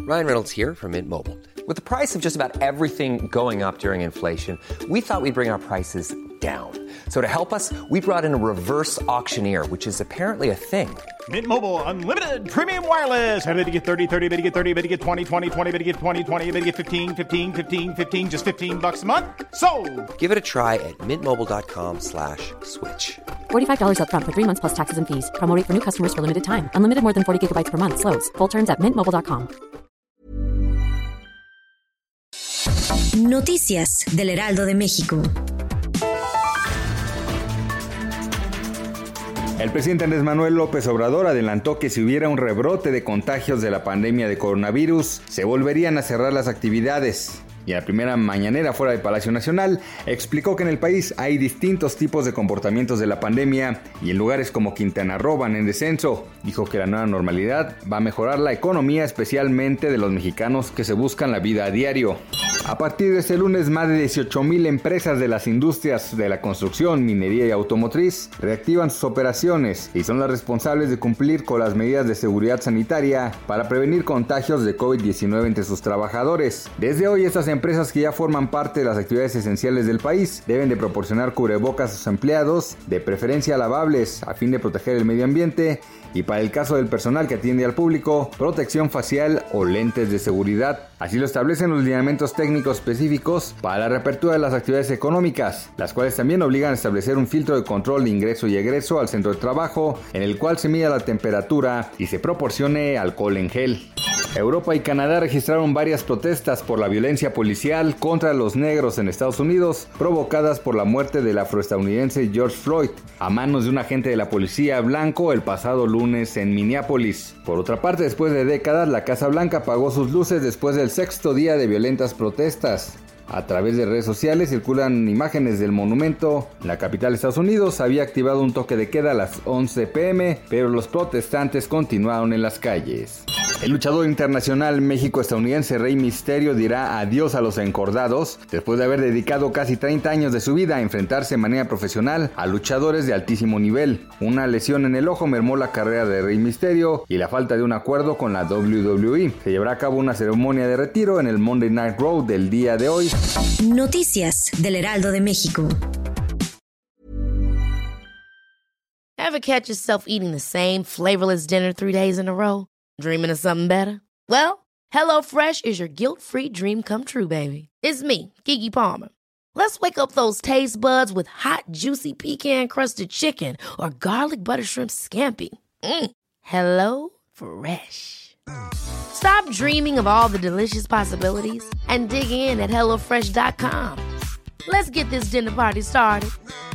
Ryan Reynolds here from Mint Mobile. With the price of just about everything going up during inflation, we thought we'd bring our prices down. So to help us, we brought in a reverse auctioneer, which is apparently a thing. Mint Mobile Unlimited Premium Wireless. How to get 30, 30, bit to get 30, bit to get 20, 20, 20, bit to get 20, 20, bit to get 15, 15, 15, 15, just $15 a month? Sold! Give it a try at mintmobile.com/switch. $45 up front for 3 months plus taxes and fees. Promo rate for new customers for limited time. Unlimited more than 40 gigabytes per month. Slows full terms at mintmobile.com. Noticias del Heraldo de México. El presidente Andrés Manuel López Obrador adelantó que si hubiera un rebrote de contagios de la pandemia de coronavirus, se volverían a cerrar las actividades. Y en la primera mañanera fuera del Palacio Nacional, explicó que en el país hay distintos tipos de comportamientos de la pandemia y en lugares como Quintana Roo van en descenso. Dijo que la nueva normalidad va a mejorar la economía, especialmente de los mexicanos que se buscan la vida a diario. A partir de este lunes, más de 18,000 empresas de las industrias de la construcción, minería y automotriz reactivan sus operaciones y son las responsables de cumplir con las medidas de seguridad sanitaria para prevenir contagios de COVID-19 entre sus trabajadores. Desde hoy, estas empresas que ya forman parte de las actividades esenciales del país deben de proporcionar cubrebocas a sus empleados, de preferencia lavables, a fin de proteger el medio ambiente, y para el caso del personal que atiende al público, protección facial o lentes de seguridad. Así lo establecen los lineamientos técnicos específicos para la reapertura de las actividades económicas, las cuales también obligan a establecer un filtro de control de ingreso y egreso al centro de trabajo, en el cual se mida la temperatura y se proporcione alcohol en gel. Europa y Canadá registraron varias protestas por la violencia policial contra los negros en Estados Unidos, provocadas por la muerte del afroestadounidense George Floyd a manos de un agente de la policía blanco el pasado lunes en Minneapolis. Por otra parte, después de décadas, la Casa Blanca apagó sus luces después del 6º día de violentas protestas. A través de redes sociales circulan imágenes del monumento. La capital de Estados Unidos había activado un toque de queda a las 11 p.m., pero los protestantes continuaron en las calles. El luchador internacional México-estadounidense Rey Mysterio dirá adiós a los encordados después de haber dedicado casi 30 años de su vida a enfrentarse de manera profesional a luchadores de altísimo nivel. Una lesión en el ojo mermó la carrera de Rey Mysterio y la falta de un acuerdo con la WWE. Se llevará a cabo una ceremonia de retiro en el Monday Night Raw del día de hoy. Noticias del Heraldo de México. Ever catch yourself eating the same flavorless dinner 3 days in a row? Dreaming of something better? Well, HelloFresh is your guilt-free dream come true, baby. It's me, Keke Palmer. Let's wake up those taste buds with hot, juicy pecan-crusted chicken or garlic butter shrimp scampi. Hello Fresh. Stop dreaming of all the delicious possibilities and dig in at HelloFresh.com. Let's get this dinner party started.